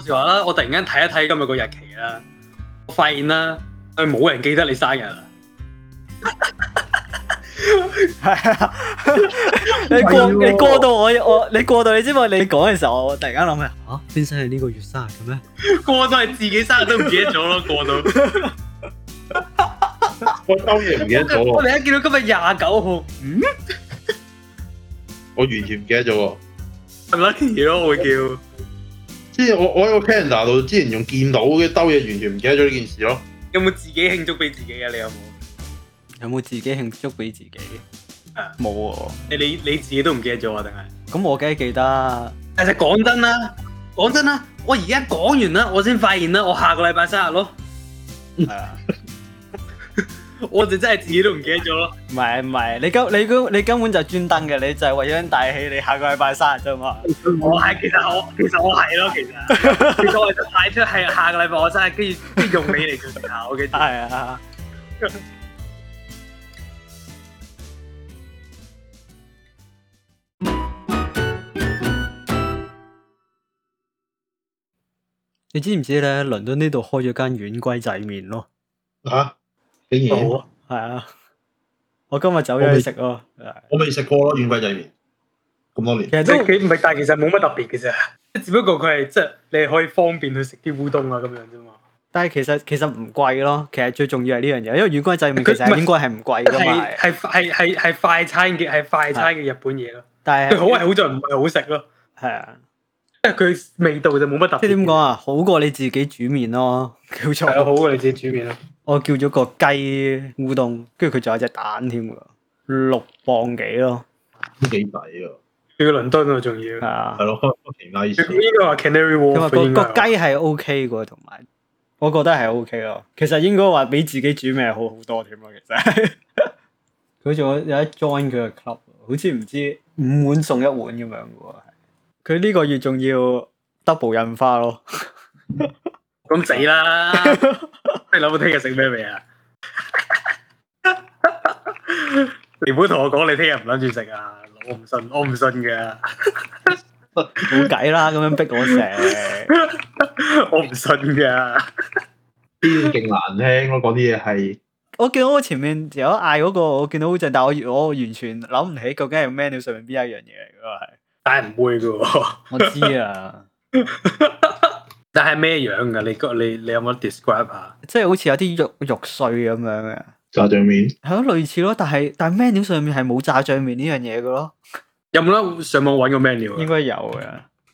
笑話啦，我突然間睇一睇今日個日期啦，我發現啦，冇人記得你生日啦。 係啊，你過到我你過到你知唔知？你講嘅時候，我突然間諗起邊生係呢個月生日嘅咩？ 過到係自己生日都唔記得咗咯，過到。 我當然唔記得咗喎。 我哋一見到今日29號， 我完全唔記得咗喎。 係咪 lucky 咯？我會叫。 之前我喺個 calendar 度之前仲見到嘅兜嘢，完全唔記得咗呢件事咯。 有冇自己慶祝俾自己啊？你有冇？ 有冇自己慶祝俾自己？冇喎。 你自己都唔記得咗啊？定係？ 咁我梗係記得。 但係講真啦，我而家講完啦，我先發現啦，我下個禮拜生日咯。 係啊。 我就真係自己都唔記得咗咯。 唔係，你根本就專登嘅，你就係為咗帶起你下個禮拜生日啫嘛。 其實我係咯，其實我就派出係下個禮拜我生日，跟住用你嚟決定下我嘅。 係啊。你知唔知咧？倫敦呢度開咗間軟龜仔麵咯。 嚇！竟然係啊！我今日走咗去食咯。 我未食過咯，軟龜仔麵咁多年。 其實都幾唔係，但係其實冇乜特別嘅啫。只不過佢係即係你係可以方便去食啲烏冬啊咁樣啫嘛。 但係其實唔貴咯。其實最重要係呢樣嘢，因為軟龜仔麵其實應該係唔貴噶嘛。 係快餐嘅日本嘢咯。 但係佢好係好在唔係好食咯。係啊。即係佢味道就冇乜特別。即係點講啊？ 好過你自己煮麵咯，叫做。 係啊，好過你自己煮麵咯。 我叫咗個雞烏冬，跟住佢仲有隻蛋添㗎，6磅幾咯， 都幾抵啊！ 去倫敦啊，仲要係啊， 係咯，其他意思。 呢個話 Canary Wharf 個雞係 OK 嘅，同埋我覺得係 OK 咯。其實應該話比自己煮麵係好好多添咯。其實佢仲有一 join 佢嘅 club， 好似唔知5碗送1碗咁樣嘅喎。佢呢個月仲要 double 印花咯。 咁死啦！你諗到聽日食咩未啊？你唔好同我講你聽日唔諗住食啊！我唔信㗎。 冇計啦，咁樣逼我食， 我唔信㗎。 啲勁難聽咯，嗰啲嘢係。 我見到我前面有嗌嗰個，我見到好正，但係我完全諗唔起究竟係 menu 上面邊一樣嘢嚟㗎係。 但係唔會㗎喎。 我知啊。 但係咩樣㗎？你有冇 describe 下？ 即係好似有啲肉碎咁樣嘅炸醬麵。 係咯，類似咯，但係 menu 上面係冇炸醬麵呢樣嘢嘅咯。 有冇得上網揾個 menu 啊？ 應該有嘅。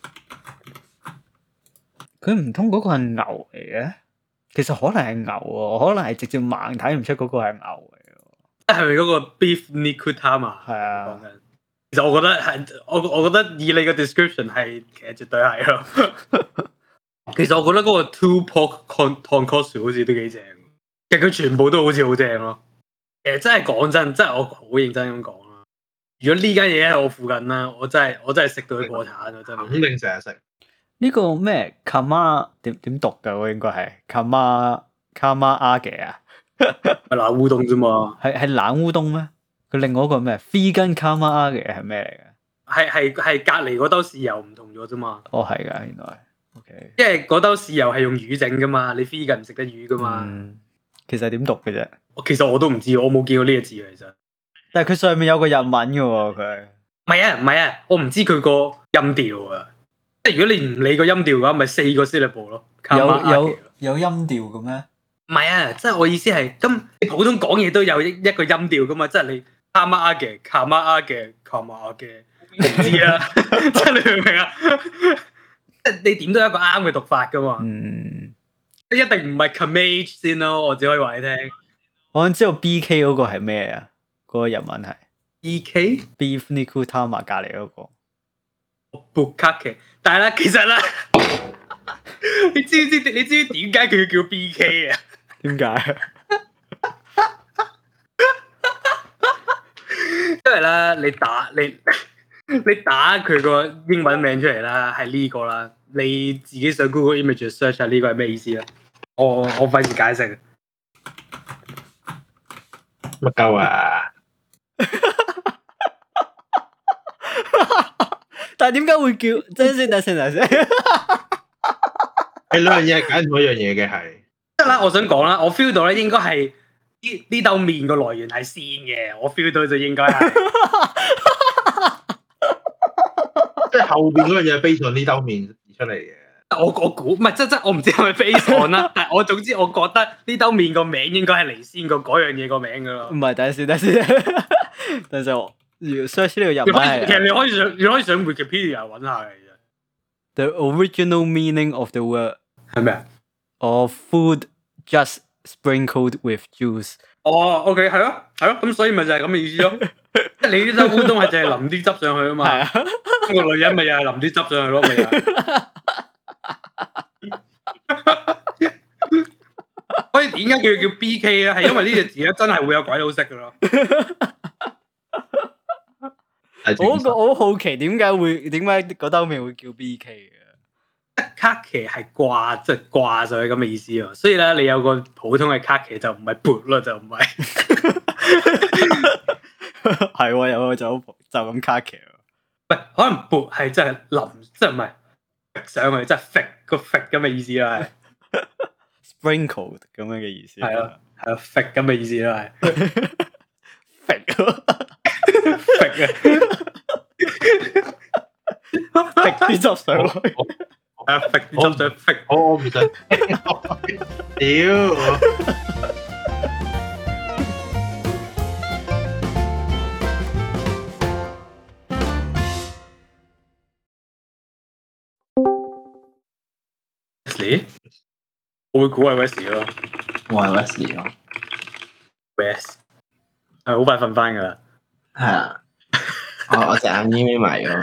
佢唔通嗰個係牛嚟嘅？其實可能係牛喎，可能係直接盲睇唔出嗰個係牛嚟嘅。 係咪嗰個 beef nikutama？ 係啊。 其實我覺得係，我覺得以你個 description 係，其實絕對係咯。其實我覺得嗰個 two pork tonkotsu 好似都幾正，其實佢全部都好似好正咯。其實真係講真，真係我好認真咁講啦。如果呢間嘢喺我附近啦，我真係食到佢破產啊！真係肯定成日食。 呢個咩 kama 點讀㗎？我應該係 kama age 啊， 係冷烏冬啫嘛。 係冷烏冬咩？佢另外一個咩 vegan kama age 係咩嚟嘅？ 係隔離嗰兜豉油唔同咗啫嘛。 哦，係㗎，原來。OK， 因為嗰兜豉油係用魚整噶嘛，你 vegan 唔食得魚噶嘛。 其實點讀嘅啫？ 其實我都唔知，我冇見過呢個字其實。但係佢上面有個日文嘅喎，佢。 唔係啊，我唔知佢個音調啊。即係如果你唔理個音調嘅話，咪4個 syllable 咯。 有音調嘅咩？ 唔係啊，即係我意思係，咁你普通講嘢都有一個音調噶嘛，即係你卡媽嘅、卡媽嘅、卡媽嘅，我唔知啊。即係你明唔明啊？即係你點都有一個啱嘅讀法噶嘛。一定唔係 Kamage 先咯，我只可以話你聽。 我想知道 BK 嗰個係咩啊？嗰個日文係 BK Beef Nikutama 隔離嗰個。 Bukkake，但係咧，其實咧，你知唔知點解佢要叫 BK 啊？ 點解？ 因為咧，你打佢個英文名出嚟啦，係呢個啦。你自己上 Google Images search 下呢個係咩意思啦？我費事解釋。 乜鳩啊？ 但係點解會叫？等先。 係兩樣嘢係揀同一樣嘢嘅係。 即係啦，我想講啦，我 feel 到咧應該係呢兜麵個來源係鮮嘅，我 feel 到就應該係。 即係後邊嗰樣嘢係 base on呢兜麵出嚟嘅。 我估唔係即我唔知係咪 base on 啦，但係我總之我覺得呢兜麵個名應該係嚟先過嗰樣嘢個名噶咯。 唔係，等陣先，等陣我 search 呢個入嚟。 其實你可以上 Wikipedia 揾下嘅。 The original meaning of the word 係咩啊？ Of food just sprinkled with juice。 哦 ，OK， 係咯，咁所以咪就係咁嘅意思咯。即係你呢兜烏冬係淨係淋啲汁上去啊嘛。係啊。個女人咪又係淋啲汁上去咯，咪又係。所以點解叫 BK 咧？係因為呢隻字咧真係會有鬼佬識噶咯。 我好好奇點解嗰兜麵會叫 BK 嘅？ 卡奇係掛，即係掛上去咁嘅意思啊。所以咧，你有個普通嘅卡奇就唔係缽咯，就唔係。 係喎，有個就咁卡奇。 喂，可能缽係真係淋，即係唔係上去，即係揈個揈咁嘅意思啦。 Sprinkled 咁樣嘅意思。 係啊，揈咁嘅意思啦，係。揈啊！ 揈啲汁上去。 揈啲汁上揈。 我唔想。屌！ 我會估係 Wesley 咯， 我係 Wesley 咯 ，West 係好快瞓翻噶啦， 係啊，我隻眼已經眯埋咗，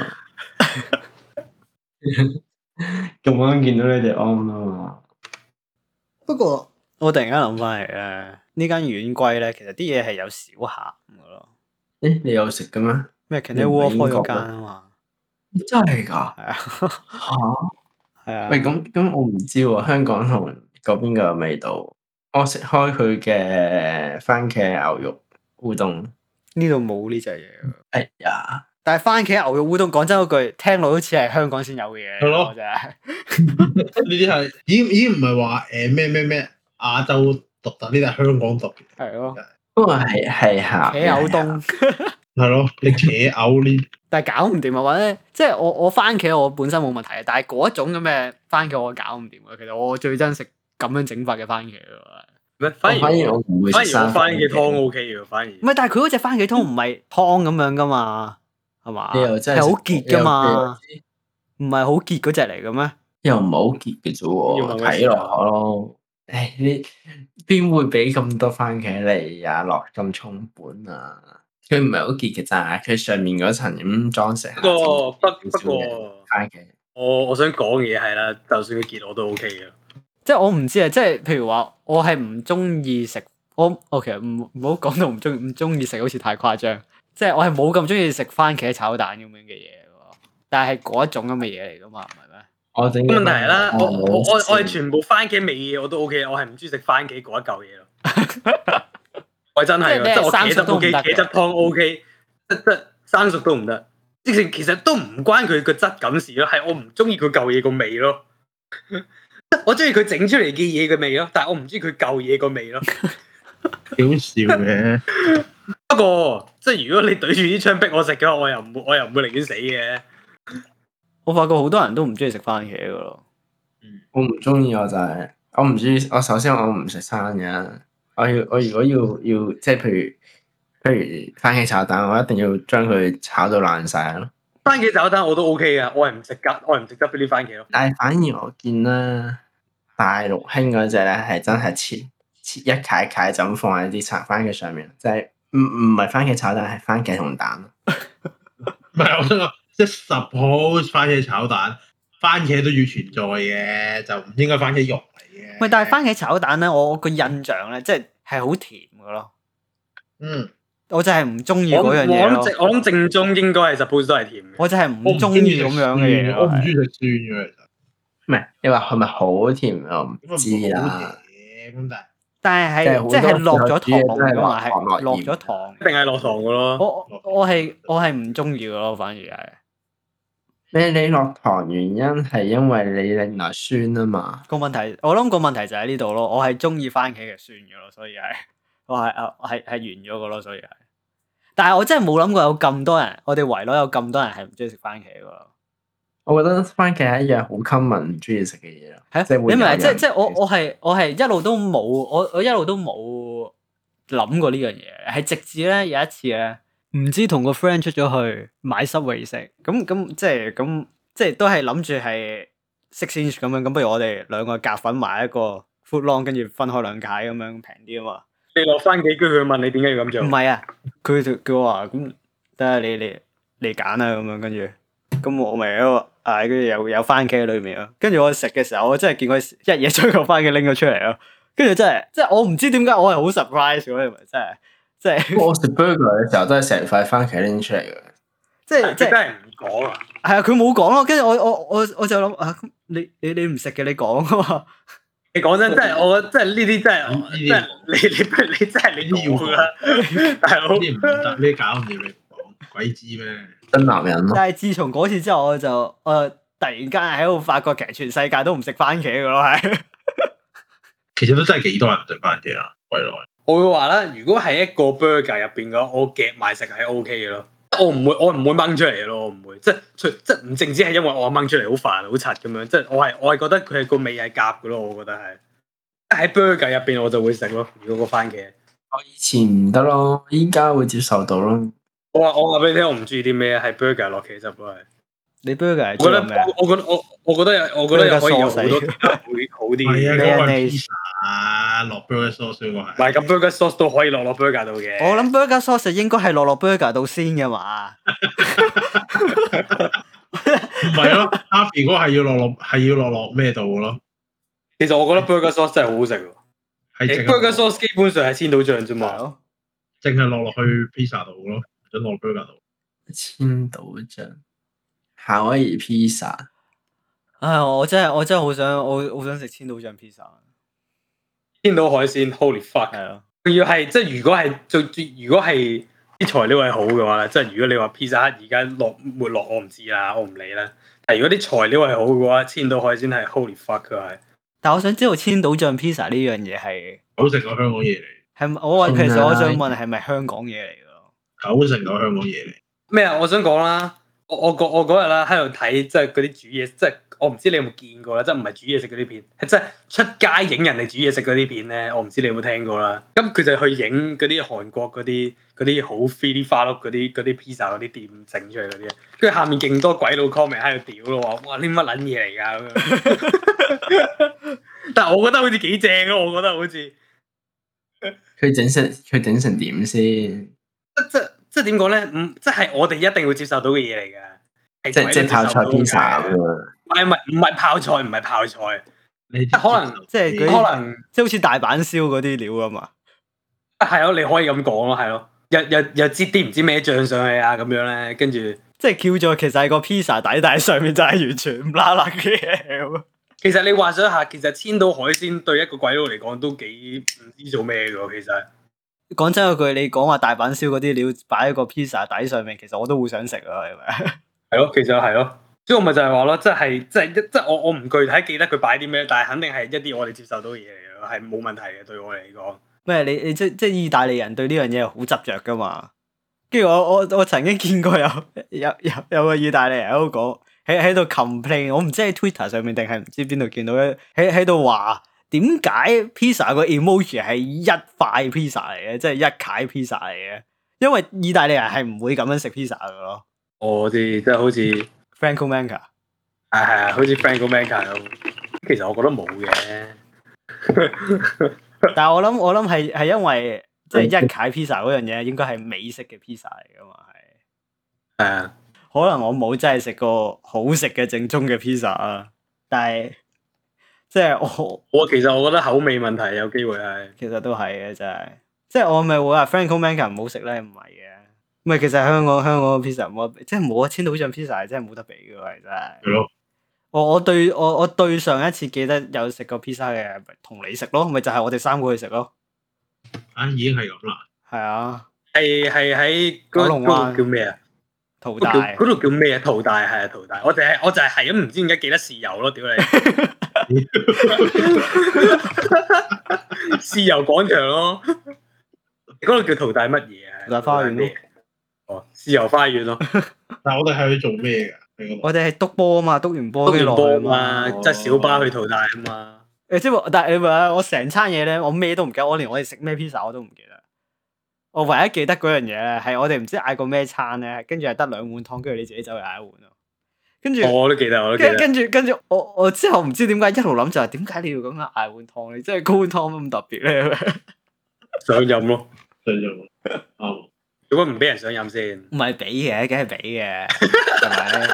咁啱見到你哋 on 啊嘛。 不過我突然間諗翻嚟咧，呢間軟龜咧，其實啲嘢係有少鹹噶咯。 誒，你有食嘅咩？ 咩 Canary Wharf 開咗間啊嘛？ 真係㗎？ 係啊。 嚇！ 係啊。 喂，咁我唔知喎，香港同嗰邊嘅味道。我食開佢嘅番茄牛肉烏冬， 呢度冇呢隻嘢。 哎呀！ 但係番茄牛肉烏冬，講真嗰句，聽落好似係香港先有嘅嘢。 係咯， 真係。 呢啲係已經唔係話咩亞洲獨特，呢啲係香港獨嘅。 係咯。 不過係鹹。 茄牛冬。 係咯，你茄牛呢？ 但係搞唔掂啊！或者即係我番茄我本身冇問題，但係嗰一種咁嘅番茄我搞唔掂啊！其實我最憎食咁樣整法嘅番茄喎。 反而我唔會食生番茄湯 OK 嘅，反而。 唔係，但係佢嗰隻番茄湯唔係湯咁樣噶嘛，係嘛？係好結噶嘛？唔係好結嗰隻嚟嘅咩？ 又唔係好結嘅啫喎，睇落咯。誒，你邊會俾咁多番茄你啊？落咁重本啊？佢唔係好結嘅咋，佢上面嗰層咁裝飾。不過番茄， 我想講嘅嘢係啦，就算佢結我都 OK 嘅。 即係我唔知啊，即係譬如話，我係唔中意食，我其實唔好講到唔中意食，好似太誇張。即係我係冇咁中意食番茄炒蛋咁樣嘅嘢喎，但係嗰一種咁嘅嘢嚟噶嘛，唔係咩？ 我整問題係啦，我係全部番茄味嘢我都 OK，我係唔中意食番茄嗰一嚿嘢咯。我真係，即係我茄汁 OK， 茄汁湯 OK， 即生熟都唔得。其實都唔關佢個質感事咯，係我唔中意佢嚿嘢個味咯。我中意佢整出嚟嘅嘢嘅味咯，但係我唔中意佢嚿嘢個味咯。 幾好笑嘅。 不過即係如果你對住啲槍逼我食嘅話，我又唔會寧願死嘅。 我發覺好多人都唔中意食番茄噶咯。 我唔中意，我就係我唔中意。我首先我唔食生嘅。我如果要即係譬如番茄炒蛋，我一定要將佢炒到爛晒咯。 番茄炒蛋我都 OK 噶，我係唔食得嗰啲番茄咯。 但係反而我見啦，大陸興嗰隻咧係真係切一塊塊就咁放喺啲炒番茄上面，即係唔係番茄炒蛋，係番茄同蛋。 唔係，我想講即係 suppose 番茄炒蛋，番茄都要存在嘅，就唔應該番茄肉嚟嘅。 喂，但係番茄炒蛋咧，我個印象咧，即係好甜噶咯。 嗯。 我就係唔中意嗰樣嘢咯。 我諗正宗應該係 suppose 都係甜嘅。 我就係唔中意咁樣嘅嘢。 我唔中意食酸嘅，其實。 唔係，你話係咪好甜我唔知啦。 但係即係落咗糖㗎嘛，係落咗糖。 一定係落糖㗎咯。 我係唔中意㗎咯，反而係。 你落糖原因係因為你另外酸啊嘛？ 我諗個問題就喺呢度咯。我係中意番茄嘅酸嘅咯，所以我係完咗嘅咯，所以係。但係我真係冇諗過有咁多人，我哋圍內有咁多人係唔中意食番茄嘅咯。 我覺得番茄係一樣好 common 唔中意食嘅嘢咯。 係啊，你明唔明？即係我係一路都冇，我一路都冇諗過呢樣嘢。係直至咧有一次咧，唔知同個 friend 出咗去買 Subway 食，咁即係都係諗住係 6 inch 咁樣，咁不如我哋兩個夾份買一個 foot long，跟住分開兩解咁樣平啲啊嘛。 你落翻幾句佢問你點解要咁做？ 唔係啊，佢叫我話咁，等下你揀啊咁樣，跟住咁我咪喺度嗌，跟住有番茄喺裏面咯。跟住我食嘅時候，我真係見佢一嘢將個番茄拎咗出嚟咯。跟住真係，即係我唔知點解我係好 surprise 嗰啲，真係。 我食 burger 嘅時候都係成塊番茄拎出嚟嘅。 即係真係唔講啊！ 係啊，佢冇講咯。跟住我就諗啊，你唔食嘅你講啊嘛。 你講真，真係我覺得真係呢啲真係，真係你真係你要㗎啦，大佬。 呢啲唔得，咩搞唔掂你講，鬼知咩？ 真男人咯。 但係自從嗰次之後，我就突然間喺度發覺，其實全世界都唔食番茄嘅咯，係。 其實都真係幾多人食番茄啊，圍內。 我會話啦，如果係一個 burger 入邊嘅話，我夾埋食係 OK 嘅咯。我唔會掹出嚟嘅咯，我唔會，即係唔淨止係因為我掹出嚟好煩好柒咁樣，即係我係覺得佢係個味係夾嘅咯，我覺得係喺 burger 入邊我就會食咯。如果個番茄， 我以前唔得咯，依家會接受到咯。 我話俾你聽，我唔中意啲咩係 burger 落茄汁咯，係。 你 burger 係我覺得可以有好多會好啲嘅。 係啊，嗰個 pizza 落 burger sauce 嗰個係。 唔係咁 burger sauce 都可以落 burger 度嘅。 我諗 burger sauce 應該係落 burger 度先嘅嘛。 唔係咯 ，Harvey 嗰個係要落咩度咯？ 其實我覺得 burger sauce 真係好好食喎。係 burger sauce 基本上係千島醬啫嘛， 淨係落去 pizza 度咯，唔落 burger 度。 千島醬。夏威夷披薩， 唉，我真係好想食千島醬披薩。 千島海鮮 ，Holy fuck！係咯，仲要係即係如果係啲材料係好嘅話咧，即係如果你話披薩而家沒落，我唔知啦，我唔理啦。但係如果啲材料係好嘅話，千島海鮮係 Holy fuck 佢係。但我想知道千島醬披薩呢樣嘢係好食過香港嘢嚟。 其實我想問係咪香港嘢嚟㗎 ？90%都香港嘢嚟。 咩啊？我想講啦。我嗰日啦喺度睇即係嗰啲煮嘢，即係我唔知你有冇見過啦，即係唔係煮嘢食嗰啲片，係即係出街影人哋煮嘢食嗰啲片咧，我唔知你有冇聽過啦。咁佢就去影嗰啲韓國嗰啲好飛啲花碌嗰啲披薩嗰啲店整出嚟嗰啲，跟住下面勁多鬼佬 comment 喺度屌咯，話哇呢乜撚嘢嚟㗎咁樣。但係我覺得好似幾正咯，我覺得好似佢整成點先？ 即係點講咧？即係我哋一定會接受到嘅嘢嚟㗎。 即係泡菜披薩咁樣。 唔係泡菜，唔係泡菜。可能即係即係好似大阪燒嗰啲料啊嘛。 係咯，你可以咁講咯，係咯。又擠啲唔知咩醬上去啊，咁樣咧，跟住即係叫做其實係個披薩底，但係上面就係完全唔拉拉嘅嘢。 其實你幻想下，其實千島海鮮對一個鬼佬嚟講都幾唔知做咩㗎，其實。 講真嗰句，你講話大阪燒嗰啲料擺喺個披薩底上面，其實我都會想食啊，係咪？係咯，其實係咯，所以我咪就係話咯，即係我唔具體記得佢擺啲咩，但係肯定係一啲我哋接受到嘅嘢嚟咯，係冇問題嘅對我嚟講。咩？你即係意大利人對呢樣嘢好執着噶嘛？跟住我曾經見過有個意大利人喺度講喺度 complain， 我唔知喺 Twitter 上面定係唔知邊度見到喺度話。點解披薩個 emoji 係一塊披薩嚟嘅，即係一塊披薩嚟嘅？因為意大利人係唔會咁樣食披薩噶咯。我知，即係好似 Franco Manca，係好似 Franco Manca 咁。其實我覺得冇嘅，但係我諗係因為即係一塊披薩嗰樣嘢，應該係美式嘅披薩嚟噶嘛，係。係啊，可能我冇真係食過好食嘅正宗嘅披薩啊，但係。即係我其實我覺得口味問題有機會係，其實都係嘅，真係。即係我咪會話 Franco Manca 唔好食咧，唔係嘅。唔係其實香港嘅 pizza 冇，即係冇啊！千島醬 pizza 係真係冇得比嘅，係真係。係咯。我對上一次記得有食過 pizza 嘅，同你食咯，咪就係我哋三個去食咯。啊，已經係咁啦。係啊。係喺九龍灣叫咩啊？ 淘大嗰度叫咩啊？淘大係啊，淘大。我就係咁唔知點解記得豉油咯，屌你！豉油廣場咯，嗰度叫淘大乜嘢啊？ 淘大花園咯。 哦，豉油花園咯。 但係我哋係去做咩㗎？ 我哋係督波啊嘛，督完波跟住落去嘛，即係小巴去淘大啊嘛。 即係但係你話我成餐嘢咧，我咩都唔記得，我連我哋食咩 pizza 我都唔記得。我唯一記得嗰樣嘢咧，係我哋唔知嗌過咩餐咧，跟住係得2碗湯，跟住你自己走去嗌1碗咯。跟住我都記得。 跟住我之後唔知點解一路諗就係點解你要咁樣嗌碗湯咧？即係嗰碗湯咁特別咧？ 想飲咯， 想飲。啱。 如果唔俾人想飲先？ 唔係俾嘅，梗係俾嘅，係咪？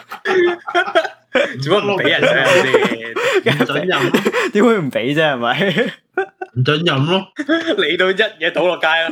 如果唔俾人想飲先， 唔準飲咯。 點會唔俾啫？係咪？ 唔準飲咯。 嚟到一嘢倒落街啦。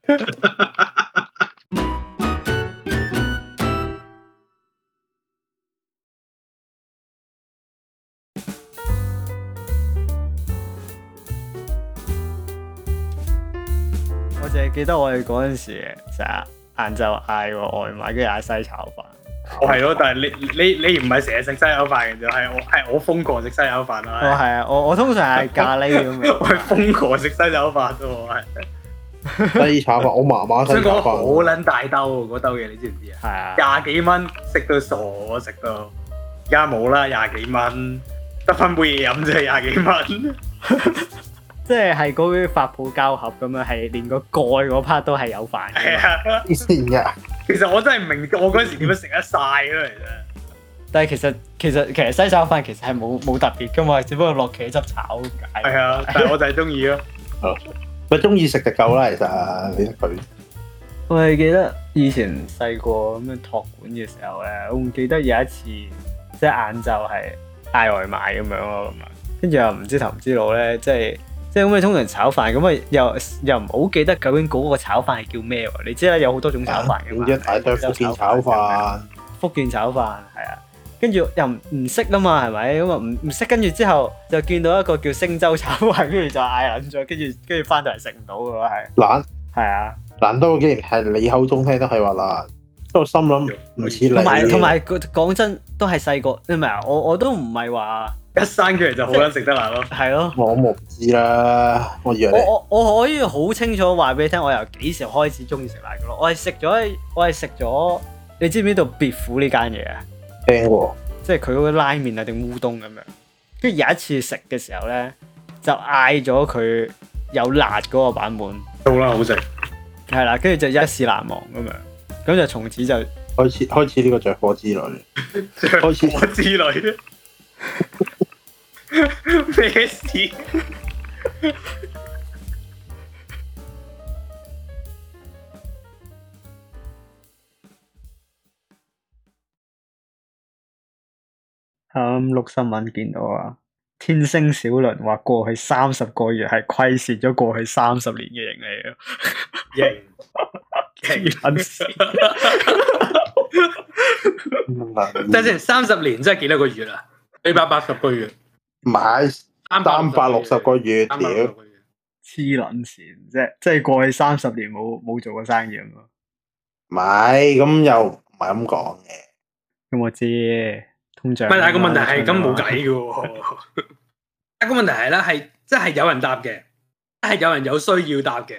我淨係記得我哋嗰陣時成日晏晝嗌個外賣，跟住嗌西炒飯。 我係咯，但係你唔係成日食西炒飯嘅啫，係我瘋狂食西炒飯啦。 我係啊，我通常係咖喱咁樣。 我係瘋狂食西炒飯啫，我係。 西炒飯，我麻麻西炒飯。 好撚大兜嗰兜嘢，你知唔知啊？ 係啊。 20幾蚊食到傻，食到而家冇啦，20幾蚊得翻杯嘢飲啫，20幾蚊。 即係嗰啲發泡膠盒咁樣，係連個蓋嗰 part 都係有飯嘅。 係啊， 黐線嘅。 其實我真係唔明，我嗰陣時點樣食得晒咯，其實。 但係其實西炒飯其實係冇特別噶嘛，只不過落茄汁炒咁解。 係啊，但係我就係中意咯。 咪中意食就夠啦，其實你得佢。 我係記得以前細個咁樣託管嘅時候咧，我唔記得有一次即係晏晝係嗌外賣咁樣咯，咁啊，跟住又唔知頭唔知路咧，即係咁你通常炒飯咁啊，又唔好記得究竟嗰個炒飯係叫咩喎？你知啦，有好多種炒飯嘅嘛。 一大堆福建炒飯。 福建炒飯係啊，跟住又唔識啦嘛，係咪？咁啊唔識，跟住之後就見到一個叫星洲炒飯，跟住就嗌撚咗，跟住翻到嚟食唔到嘅喎，係。 懶。 係啊。 難得竟然係你口中聽都係話難，即係我心諗唔似你。 同埋講真，都係細個，你明啊？我都唔係話。 一生出嚟就好撚食得辣咯， 係咯。 我冇知啦，我以為我可以好清楚話俾你聽，我由幾時開始中意食辣嘅咯。我係食咗，你知唔知道別府呢間嘢啊？ 聽過， 即係佢嗰個拉麵啊定烏冬咁樣。跟住有一次食嘅時候咧，就嗌咗佢有辣嗰個版本。 好啦，好食。 係啦，跟住就一試難忘咁樣，咁就從此就開始呢個着火之旅。 着火之旅。咩事？ 錄新聞見到啊，天星小輪話過去30個月係虧蝕咗過去30年嘅盈利啊！ 等陣30年真係幾多個月啊？480個月， 唔係360個月，屌！ 黐撚線，即係過去30年冇做過生意咁咯。 唔係，咁又唔係咁講嘅。 咁我知通脹。 但係個問題係咁冇計嘅喎。一個問題係咧，係即係有人答嘅，係有人有需要答嘅。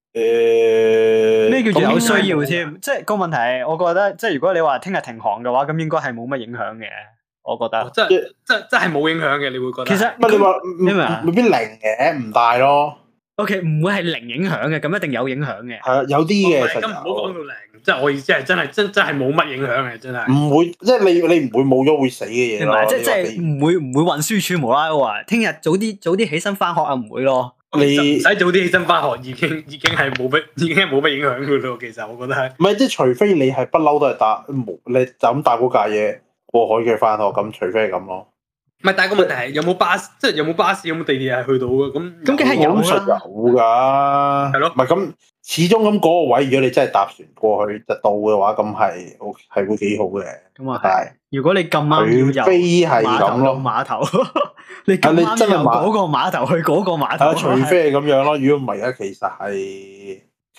咩叫做有需要添？即係個問題係，我覺得即係如果你話聽日停航嘅話，咁應該係冇乜影響嘅。我覺得真係冇影響嘅，你會覺得。 其實你話你明啊？ 未必零嘅，唔大咯。 O.K. 唔會係零影響嘅，咁一定有影響嘅。 係啊，有啲嘅。 咁唔好講到零，即係我意思係真係冇乜影響嘅，真係。唔會，即係你唔會冇咗會死嘅嘢咯。 即係唔會運輸署無啦啦話聽日早啲起身翻學啊，唔會咯。 你唔使早啲起身翻學，已經係冇乜影響㗎咯。其實我覺得係。唔係， 即係除非你係不嬲都係搭你就咁搭嗰架嘢過海嘅翻學，咁除非係咁咯。 唔係，但係個問題係有冇巴士，即係有冇巴士，有冇地鐵係去到嘅？咁梗係有啦， 有㗎。係咯。唔係咁，始終咁嗰個位，如果你真係搭船過去就到嘅話，咁係會幾好嘅。 咁啊係。如果你咁啱要由碼頭落碼頭，你咁啱由嗰個碼頭去嗰個碼頭。 除非係咁樣咯，如果唔係咧，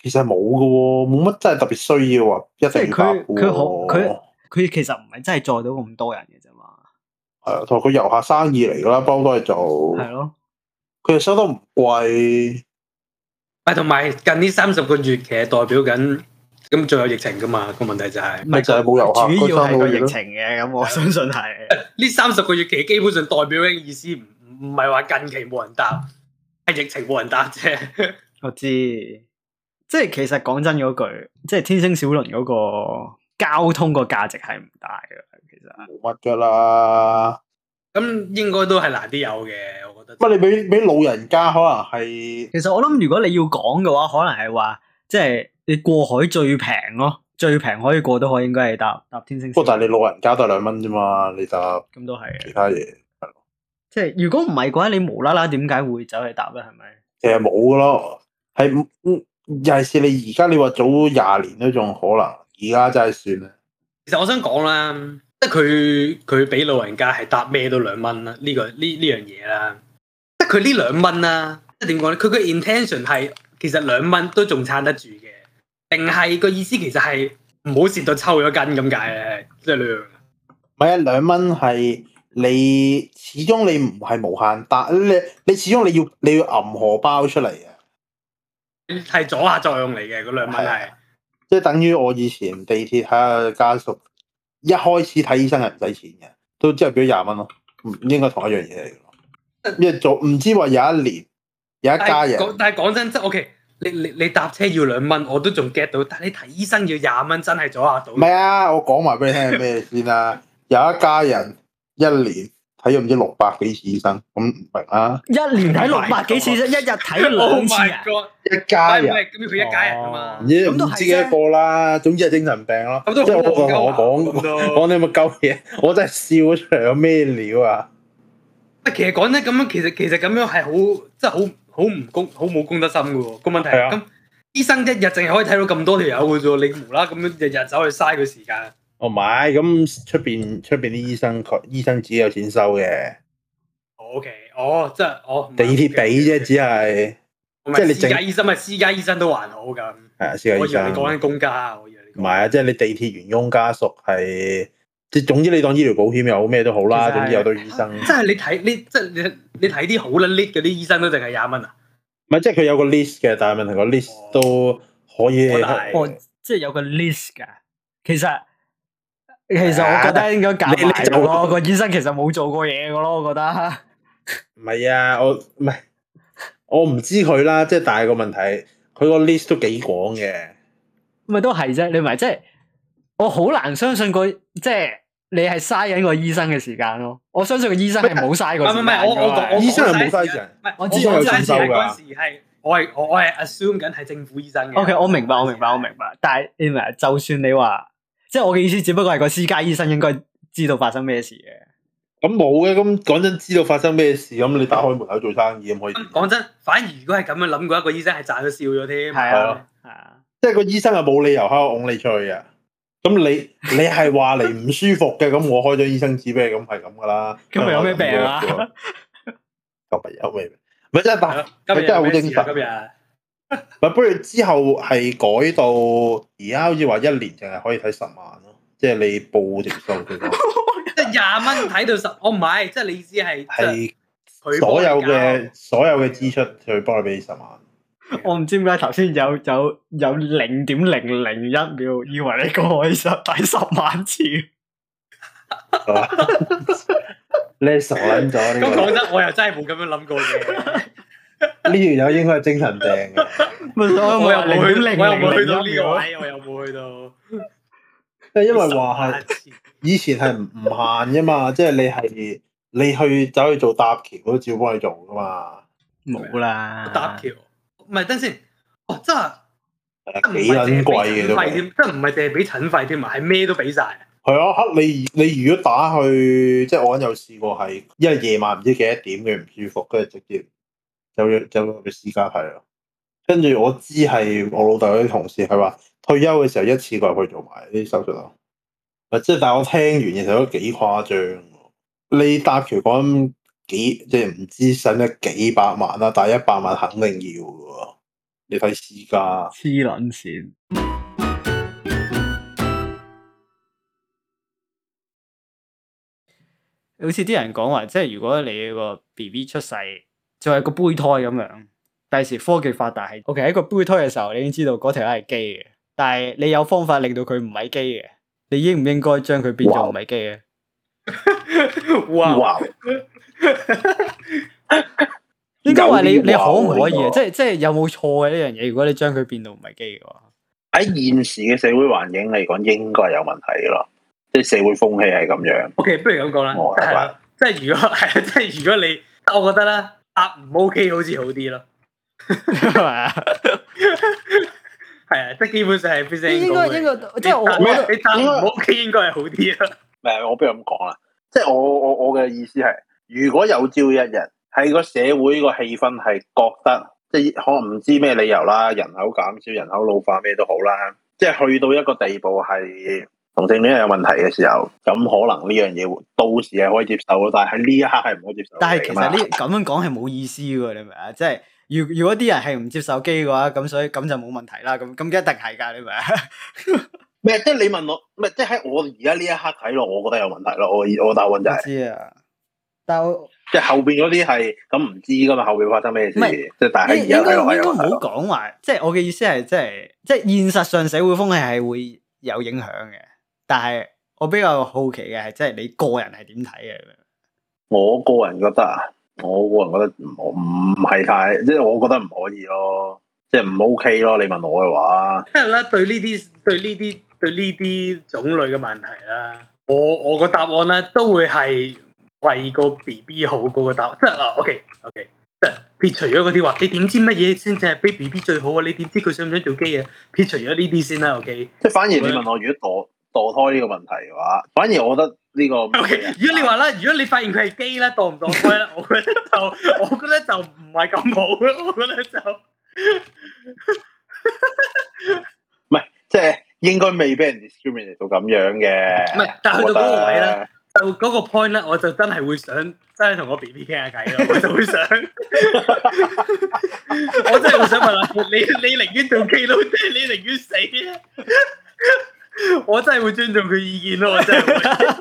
其實冇嘅喎，冇乜真係特別需要話一定要搭嘅喎。 佢其實唔係真係載到咁多人嘅啫嘛。 係啊，同佢遊客生意嚟㗎啦，包都係做。係咯， 佢又收得唔貴。 同埋近呢30個月其實代表緊，咁仲有疫情㗎嘛？個問題就係咪就係冇遊客， 主要係個疫情嘅，咁我相信係。 呢30個月期基本上代表嘅意思唔係話近期冇人搭，係疫情冇人搭啫。 我知，即係其實講真嗰句，即係天星小輪嗰個交通個價值係唔大嘅，其實冇乜㗎啦。 咁應該都係難啲有嘅，我覺得。 乜你俾老人家可能係？ 其實我諗，如果你要講嘅話，可能係話，即係你過海最平咯，最平可以過到海，應該係搭天星小輪。 不過但係你老人家都係2蚊啫嘛，你搭咁都係其他嘢係咯。 即係如果唔係嘅話，你無啦啦點解會走去搭咧？係咪？ 其實冇㗎咯，係尤其是你而家你話早20年都仲可能，而家真係算啦。 其實我想講啦，即係佢俾老人家係搭咩都2蚊啦，呢樣嘢啦，即係佢呢2蚊啦，即係點講咧？佢個 intention 係其實2蚊都仲撐得住嘅，定係個意思其實係唔好蝕到抽咗筋咁解咧？即係2。 唔係啊，2蚊係你始終你唔係無限搭，你始終你要揞荷包出嚟嘅， 係阻嚇作用嚟嘅嗰2蚊係。 即係等於我以前地鐵睇下家屬，一開始睇醫生係唔使錢嘅，都之後俾咗20蚊咯，唔應該同一樣嘢嚟嘅。因為做唔知話有一年有一家人， 但係講真，即係 OK，你搭車要2蚊，我都仲 get 到，但係你睇醫生要20蚊，真係阻嚇到。唔係啊，我講埋俾你聽係咩先啦。有一家人一年睇咗唔知600幾次醫生，咁唔明啊？ 一年睇600幾次啫，一日睇2次啊！ 一家人， 咁佢一家人啊嘛， 唔知幾多個啦，總之係精神病咯。即係我同我講啲咁嘅鳩嘢，我真係笑咗出嚟，有咩料啊？ 其實講真咁樣，其實咁樣係好，即係好冇公德心嘅喎。個問題係咁，醫生一日淨係可以睇到咁多條友嘅啫，你無啦咁樣日日走去嘥佢時間。 哦，唔係，咁出邊啲醫生自己有錢收嘅。 OK，即係地鐵俾啫，只係即係你私家醫生咪私家醫生都還好咁。係啊，私家醫生。 我以為你講緊公家，我以為你。 唔係啊，即係你地鐵員工家屬係，即係總之你當醫療保險又好咩都好啦，總之有對醫生。 即係你睇啲好撚 lit 嗰啲醫生都淨係20蚊啊？ 唔係，即係佢有個 list 嘅，但係問題個 list 都可以。 即係有個 list 㗎。其實我覺得應該夾埋咯。個醫生其實冇做過嘢㗎咯，我覺得。 唔係啊，我唔知佢啦，即係但係個問題，佢個 list 都幾廣嘅。 咪都係啫，你咪即係我好難相信即係你係嘥緊個醫生嘅時間咯。我相信個醫生係冇嘥過時間。唔係， 我醫生係冇嘥人。 我知有錢收㗎。嗰時係我係 assume 緊係政府醫生嘅。 OK， 我明白。但係你明，就算你話，即係我嘅意思，只不過係個私家醫生應該知道發生咩事嘅。 咁冇嘅，咁講真，知道發生咩事，咁你打開門口做生意咁可以。 講真，反而如果係咁樣諗過，一個醫生係賺咗笑咗添。 係啊， 即係個醫生係冇理由喺度拱你出去嘅。咁你係話你唔舒服嘅，咁我開咗醫生紙俾你，咁係咁噶啦。 今日有咩病啊？ 今日有咩病？咪真係真係好精神。 今日不如之後係改到而家好似話1年淨係可以睇10萬咯，即係你報條數佢講。 即係20蚊睇到10，我唔係，即係你意思係所有嘅支出佢幫你俾10萬。 我唔知點解頭先有0.001秒，以為你講可以睇10萬次。 你傻撚咗呢個？ 咁講真，我又真係冇咁樣諗過嘅。 呢條友應該係精神病嘅。 我又冇去到呢個位，我又冇去到。 因為話係以前係唔限嘅嘛，即係你去走去做搭橋都照幫你做噶嘛。 冇啦， 搭橋唔係等先，真係幾撚貴嘅都， 真唔係淨係俾診費添啊，係咩都俾晒。 係啊，你如果打去，即係我有試過係，因為夜晚唔知幾多點佢唔舒服，跟住直接就去私家睇咯。跟住我知係我老豆啲同事係話退休嘅時候一次過去做埋啲手術咯。即係但係我聽完嘅時候都幾誇張。你搭橋講即係唔知使唔使幾百萬啦，但係100萬肯定要嘅喎。 你睇私家黐撚線。好似啲人講話，即係如果你個 BB 出世就係個胚胎咁樣，第時科技發達係 OK 喺個胚胎嘅時候，你已經知道嗰條係基嘅，但係你有方法令到佢唔係基嘅，你應唔應該將佢變做唔係基嘅？ 哇！ 應該話你可唔可以啊？即係有冇錯嘅呢樣嘢？如果你將佢變到唔係基嘅話， 喺現時嘅社會環境嚟講，應該係有問題咯。即係社會風氣係咁樣。 OK， 不如咁講啦，係啦，即係如果係，即係如果你，我覺得咧，答唔 OK 好似好啲咯，係咪啊？係啊，即係基本上係 present 應該，即係你答唔 OK 應該係好啲咯。 唔係，我不如咁講啦，即係我嘅意思係，如果有朝一日喺個社會個氣氛係覺得，即係可能唔知咩理由啦，人口減少、人口老化咩都好啦，即係去到一個地步係同性戀有問題嘅時候，咁可能呢樣嘢到時係可以接受咯，但係喺呢一刻係唔可以接受。 但係其實呢咁樣講係冇意思㗎，你明唔明啊？即係如果啲人係唔接受基嘅話，咁所以咁就冇問題啦。咁一定係㗎，你明唔明啊？ 咩？即係你問我，唔係即係喺我而家呢一刻睇落，我覺得有問題咯。我答案就係、 知啊，但係即係後邊嗰啲係咁唔知㗎嘛，後邊發生咩事？即係但係喺而家睇落係有問題。 應該唔好講話，即係我嘅意思係即係現實上社會風氣係會有影響嘅。但係我比較好奇嘅係，即係你個人係點睇嘅？ 我個人覺得啊，我個人覺得唔係太，即係我覺得唔可以咯，即係唔 OK 咯。你問我嘅話， 因為咧對呢啲種類嘅問題啦，我個答案咧都會係為個 BB 好嗰個答案，即係OK，即係撇除咗嗰啲話，你點知乜嘢先至係俾 BB 最好啊？你點知佢想唔想做基啊？撇除咗呢啲先啦，OK。即係反而你問我，如果墮胎呢個問題嘅話，反而我覺得呢個 ，okay，如果你話啦，如果你發現佢係基啦，墮唔墮胎啦，我覺得就唔係咁好咯，我覺得就唔係，即係應該未俾人 discriminate 到咁樣嘅。 唔係，但係去到嗰個位咧，就嗰個 point 咧，我就真係會想真係同我 BB 傾下偈咯，我就會想，我真係會想問下你寧願做基佬定係你寧願死啊？我真係會尊重佢意見咯，我真係會。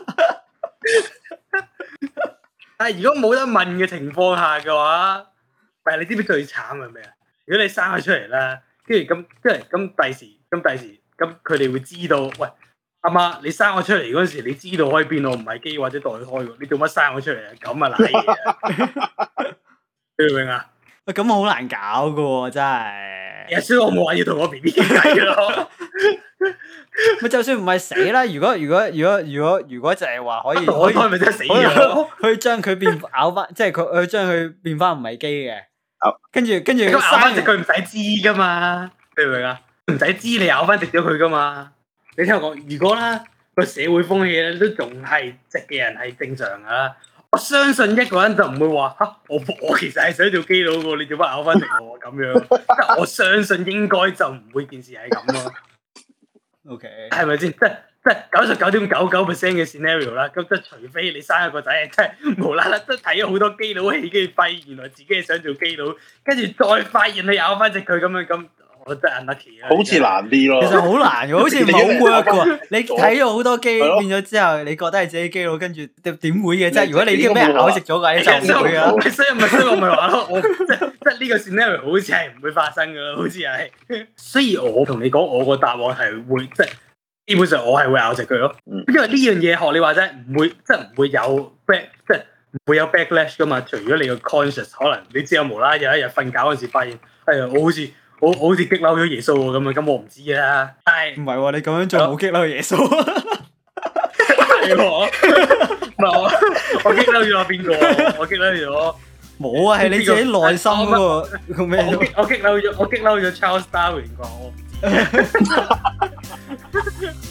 但係如果冇得問嘅情況下嘅話，唔係你知唔知最慘係咩啊？如果你生佢出嚟啦，跟住咁第時咁佢哋會知道，喂，阿媽你生我出嚟嗰陣時，你知道可以變我唔係基或者墮胎喎，你做乜生我出嚟啊？咁啊瀨嘢啊！你明唔明啊？ 喂，咁好難搞噶喎，真係。 所以我冇話要同我 BB 傾偈咯。 咪就算唔係死啦，如果就係話可以咪真係死咗， 可以將佢變咬翻，即係佢將佢變翻唔係基嘅。跟住咁咬翻直佢唔使知噶嘛，你明唔明啊？唔使知你咬翻直咗佢噶嘛。你聽我講，如果啦個社會風氣咧都仲係直嘅人係正常噶啦，我相信一個人就唔會話吓我其實係想做基佬噶，你做乜咬翻直我咁樣？即係我相信應該就唔會件事係咁咯。 OK， 係咪先？即係99.99% 嘅 scenario 啦。咁即係除非你生一個仔，即係無啦啦都睇咗好多基佬戲，跟住發現原來自己係想做基佬，跟住再發現你咬翻直佢咁樣咁。我真係 unlucky 啊！ 好似難啲咯， 其實好難嘅，好似冇 work 嘅。你睇咗好多基變咗之後，你覺得係自己基佬，跟住點會嘅啫？如果你已經俾人咬食咗嘅，你就唔會啊！ 所以我咪話咯，我即係呢個 scenario 好似係唔會發生嘅咯，好似係。所以我同你講，我個答案係會即係基本上我係會咬食佢咯。因為呢樣嘢學你話齋唔會即係唔會有 即係唔會有 backlash 噶嘛。除咗你個 conscious 可能你知有無啦有一日瞓覺嗰陣時發現，我好似激嬲咗耶穌喎咁啊！咁我唔知啊，但係唔係喎？你咁樣做冇激嬲耶穌？係喎，唔係我激嬲咗邊個？我激嬲咗冇啊！係你自己內心嗰個咩？ 我激嬲咗 Charles Darwin 啩？我唔知。